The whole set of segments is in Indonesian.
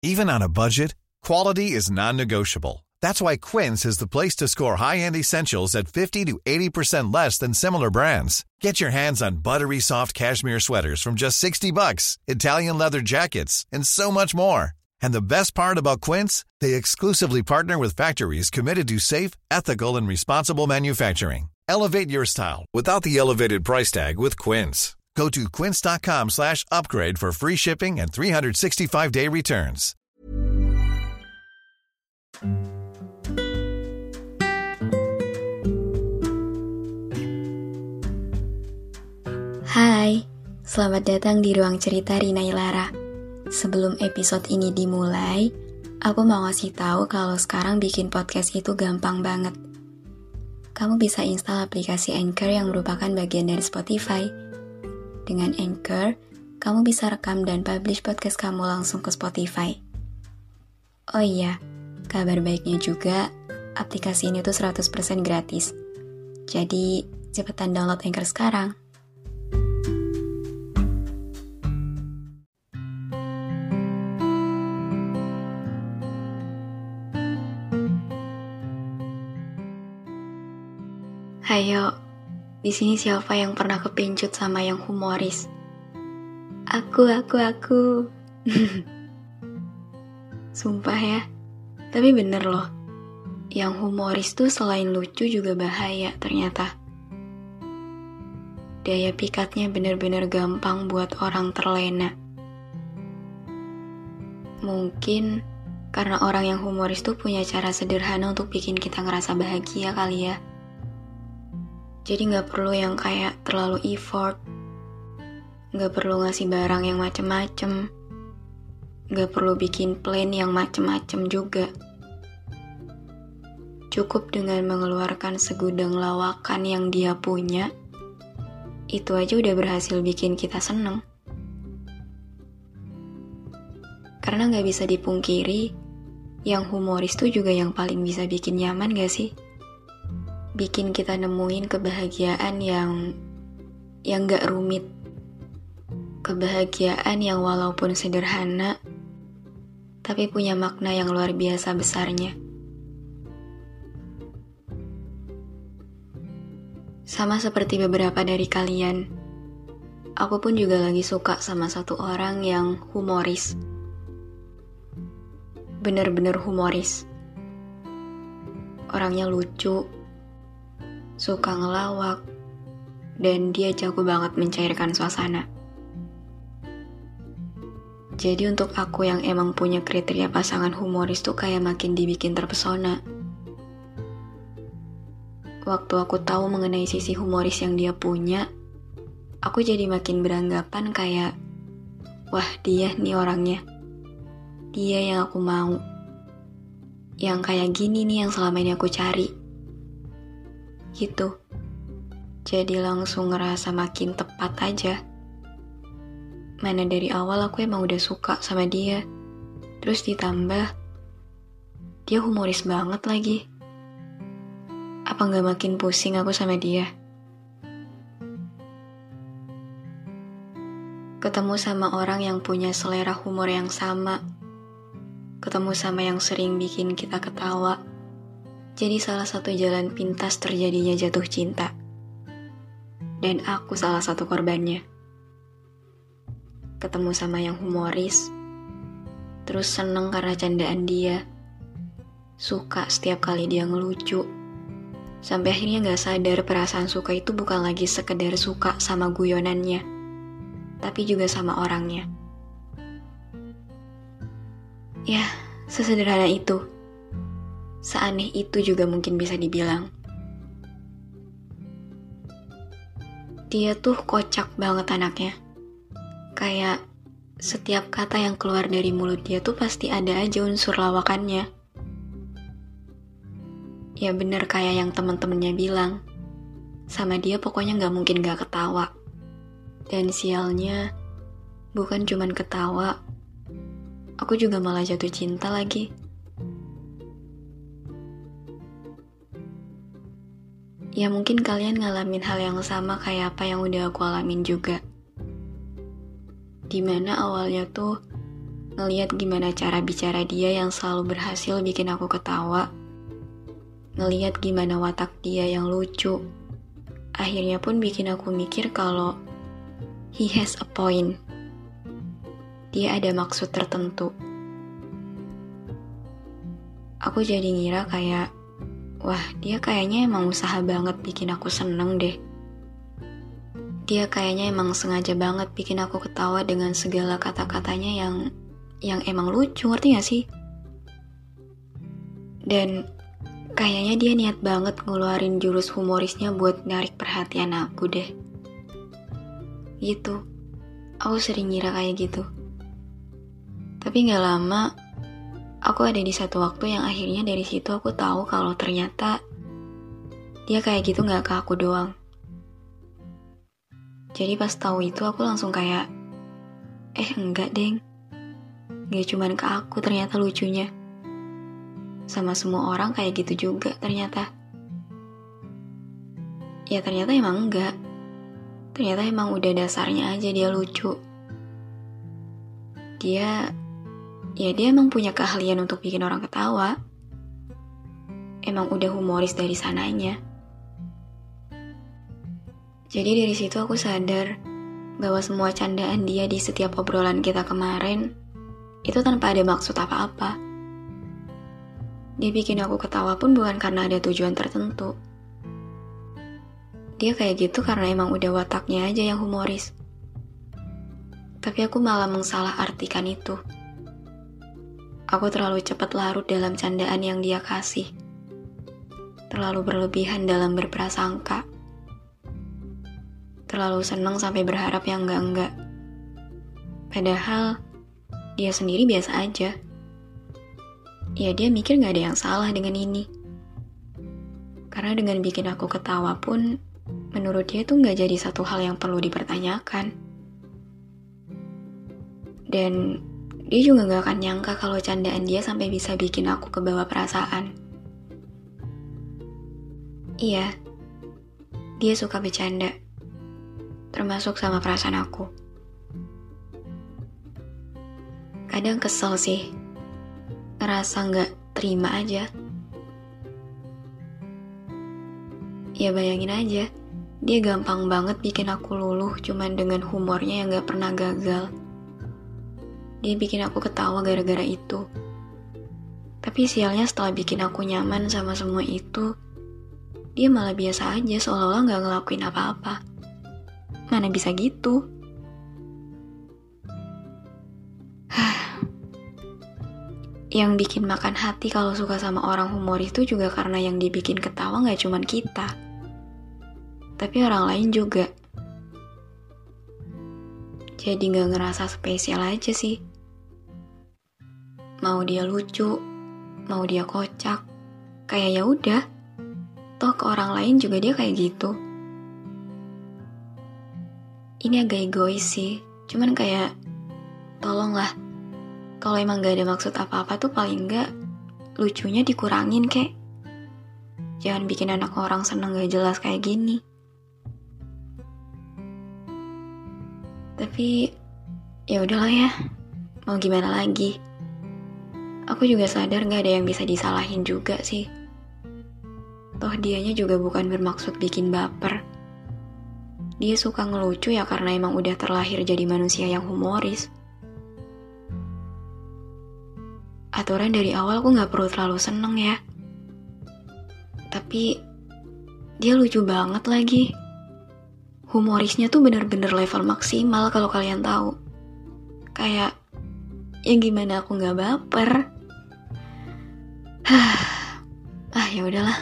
Even on a budget, quality is non-negotiable. That's why Quince is the place to score high-end essentials at 50 to 80% less than similar brands. Get your hands on buttery soft cashmere sweaters from just $60, Italian leather jackets, and so much more. And the best part about Quince, they exclusively partner with factories committed to safe, ethical, and responsible manufacturing. Elevate your style without the elevated price tag with Quince. Go to quince.com/upgrade for free shipping and 365-day returns. Hai, selamat datang di Ruang Cerita Rina Ilara. Sebelum episode ini dimulai, aku mau ngasih tahu kalau sekarang bikin podcast itu gampang banget. Kamu bisa install aplikasi Anchor yang merupakan bagian dari Spotify. Dengan Anchor, kamu bisa rekam dan publish podcast kamu langsung ke Spotify. Oh iya, kabar baiknya juga, aplikasi ini tuh 100% gratis. Jadi, cepetan download Anchor sekarang. Hayo, di sini siapa yang pernah kepincut sama yang humoris? Aku. Sumpah ya, tapi bener loh. Yang humoris tuh selain lucu juga bahaya ternyata. Daya pikatnya bener-bener gampang buat orang terlena. Mungkin karena orang yang humoris tuh punya cara sederhana untuk bikin kita ngerasa bahagia kali ya. Jadi gak perlu yang kayak terlalu effort, gak perlu ngasih barang yang macem-macem, gak perlu bikin plan yang macem-macem juga. Cukup dengan mengeluarkan segudang lawakan yang dia punya, itu aja udah berhasil bikin kita seneng. Karena gak bisa dipungkiri, yang humoris tuh juga yang paling bisa bikin nyaman gak sih? Bikin kita nemuin kebahagiaan yang gak rumit. Kebahagiaan yang walaupun sederhana, tapi punya makna yang luar biasa besarnya. Sama seperti beberapa dari kalian, aku pun juga lagi suka sama satu orang yang humoris. Bener-bener humoris. Orangnya lucu, suka ngelawak, dan dia jago banget mencairkan suasana. Jadi untuk aku yang emang punya kriteria pasangan humoris tuh kayak makin dibikin terpesona. Waktu aku tahu mengenai sisi humoris yang dia punya, aku jadi makin beranggapan kayak, wah dia nih orangnya. Dia yang aku mau. Yang kayak gini nih yang selama ini aku cari. Gitu. Jadi langsung ngerasa makin tepat aja. Mana dari awal aku emang udah suka sama dia. Terus ditambah, dia humoris banget lagi. Apa gak makin pusing aku sama dia? Ketemu sama orang yang punya selera humor yang sama. Ketemu sama yang sering bikin kita ketawa. Jadi salah satu jalan pintas terjadinya jatuh cinta. Dan aku salah satu korbannya. Ketemu sama yang humoris, terus seneng karena candaan dia. Suka setiap kali dia ngelucu. Sampai akhirnya gak sadar perasaan suka itu bukan lagi sekedar suka sama guyonannya, tapi juga sama orangnya. Ya, sesederhana itu. Seaneh itu juga mungkin bisa dibilang. Dia tuh kocak banget anaknya. Kayak setiap kata yang keluar dari mulut dia tuh pasti ada aja unsur lawakannya. Ya bener kayak yang temen-temennya bilang. Sama dia pokoknya gak mungkin gak ketawa. Dan sialnya, bukan cuman ketawa, aku juga malah jatuh cinta lagi. Ya mungkin kalian ngalamin hal yang sama kayak apa yang udah aku alamin juga. Dimana awalnya tuh ngeliat gimana cara bicara dia yang selalu berhasil bikin aku ketawa, ngeliat gimana watak dia yang lucu, akhirnya pun bikin aku mikir kalau he has a point. Dia ada maksud tertentu. Aku jadi ngira kayak, wah dia kayaknya emang usaha banget bikin aku seneng deh. Dia kayaknya emang sengaja banget bikin aku ketawa dengan segala kata-katanya yang emang lucu, ngerti gak sih? Dan kayaknya dia niat banget ngeluarin jurus humorisnya buat narik perhatian aku deh. Gitu. Aku sering ngira kayak gitu. Tapi gak lama, aku ada di satu waktu yang akhirnya dari situ aku tahu kalau ternyata dia kayak gitu gak ke aku doang. Jadi pas tahu itu aku langsung kayak, enggak deng. Gak cuman ke aku ternyata lucunya. Sama semua orang kayak gitu juga ternyata. Ya ternyata emang enggak. Ternyata emang udah dasarnya aja dia lucu. Dia emang punya keahlian untuk bikin orang ketawa. Emang udah humoris dari sananya. Jadi dari situ aku sadar bahwa semua candaan dia di setiap obrolan kita kemarin itu tanpa ada maksud apa-apa. Dia bikin aku ketawa pun bukan karena ada tujuan tertentu. Dia kayak gitu karena emang udah wataknya aja yang humoris. Tapi aku malah mengsalah-artikan itu. Aku terlalu cepat larut dalam candaan yang dia kasih. Terlalu berlebihan dalam berprasangka. Terlalu seneng sampai berharap yang enggak-enggak. Padahal dia sendiri biasa aja. Ya dia mikir gak ada yang salah dengan ini. Karena dengan bikin aku ketawa pun, menurut dia tuh gak jadi satu hal yang perlu dipertanyakan. Dan dia juga gak akan nyangka kalau candaan dia sampai bisa bikin aku kebawa perasaan. Iya, dia suka bercanda. Termasuk sama perasaan aku. Kadang kesel sih. Ngerasa gak terima aja. Ya bayangin aja, dia gampang banget bikin aku luluh cuman dengan humornya yang gak pernah gagal. Dia bikin aku ketawa gara-gara itu. Tapi sialnya setelah bikin aku nyaman sama semua itu, dia malah biasa aja seolah-olah gak ngelakuin apa-apa. Mana bisa gitu? Yang bikin makan hati kalau suka sama orang humoris itu juga karena yang dibikin ketawa gak cuman kita, tapi orang lain juga. Jadi gak ngerasa spesial aja sih. Mau dia lucu, mau dia kocak, kayak ya udah. Toh ke orang lain juga dia kayak gitu. Ini agak egois sih, cuman kayak, tolonglah, kalau emang gak ada maksud apa-apa tuh paling gak lucunya dikurangin kek. Jangan bikin anak orang seneng gak jelas kayak gini. Tapi, ya udahlah ya, mau gimana lagi. Aku juga sadar gak ada yang bisa disalahin juga sih. Toh dianya juga bukan bermaksud bikin baper. Dia suka ngelucu ya karena emang udah terlahir jadi manusia yang humoris. Aturan dari awal aku gak perlu terlalu seneng ya. Tapi dia lucu banget lagi. Humorisnya tuh bener-bener level maksimal kalau kalian tahu. Kayak, ya gimana aku gak baper. Ya udahlah.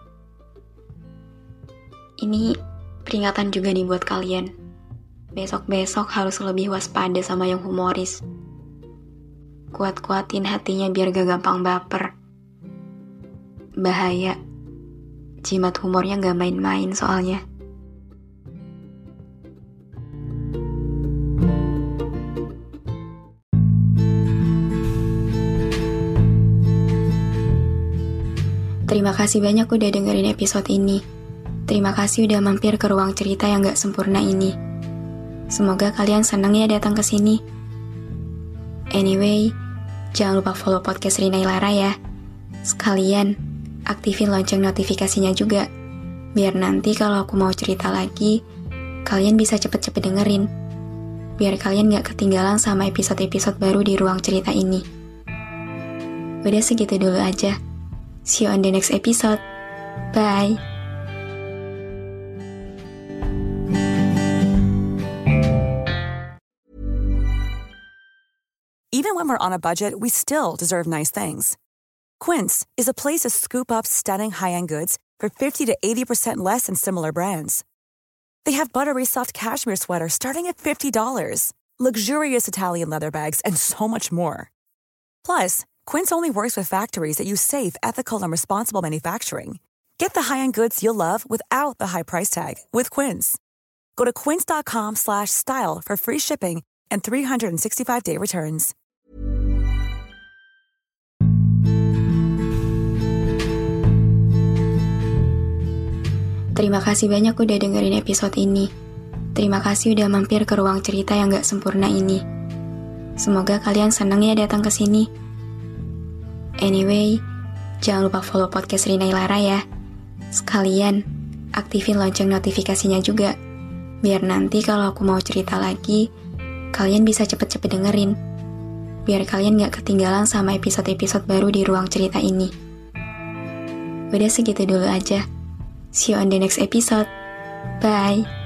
Ini peringatan juga nih buat kalian. Besok-besok harus lebih waspada sama yang humoris. Kuat-kuatin hatinya biar gak gampang baper. Bahaya. Jimat humornya gak main-main soalnya. Terima kasih banyak udah dengerin episode ini. Terima kasih udah mampir ke ruang cerita yang gak sempurna ini. Semoga kalian senang ya datang ke sini. Anyway, jangan lupa follow podcast Rina Ilara ya. Sekalian, aktifin lonceng notifikasinya juga. Biar nanti kalau aku mau cerita lagi, kalian bisa cepet-cepet dengerin. Biar kalian gak ketinggalan sama episode-episode baru di ruang cerita ini. Udah segitu dulu aja. See you on the next episode. Bye. Even when we're on a budget, we still deserve nice things. Quince is a place to scoop up stunning high-end goods for 50 to 80% less than similar brands. They have buttery soft cashmere sweaters starting at $50, luxurious Italian leather bags, and so much more. Plus, Quince only works with factories that use safe, ethical, and responsible manufacturing. Get the high-end goods you'll love without the high price tag with Quince. Go to quince.com/style for free shipping and 365-day returns. Terima kasih banyak udah dengerin episode ini. Terima kasih udah mampir ke ruang cerita yang gak sempurna ini. Semoga kalian senang ya datang ke sini. Anyway, jangan lupa follow podcast Rina Ilara ya. Sekalian, aktifin lonceng notifikasinya juga. Biar nanti kalau aku mau cerita lagi, kalian bisa cepet-cepet dengerin. Biar kalian gak ketinggalan sama episode-episode baru di ruang cerita ini. Udah segitu dulu aja. See you on the next episode. Bye.